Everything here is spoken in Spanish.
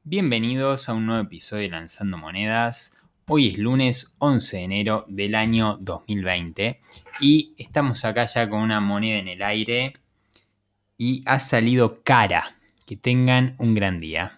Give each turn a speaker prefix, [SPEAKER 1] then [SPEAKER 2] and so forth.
[SPEAKER 1] Bienvenidos a un nuevo episodio de Lanzando Monedas. Hoy es lunes 11 de enero del año 2020 y estamos acá ya con una moneda en el aire y ha salido cara. Que tengan un gran día.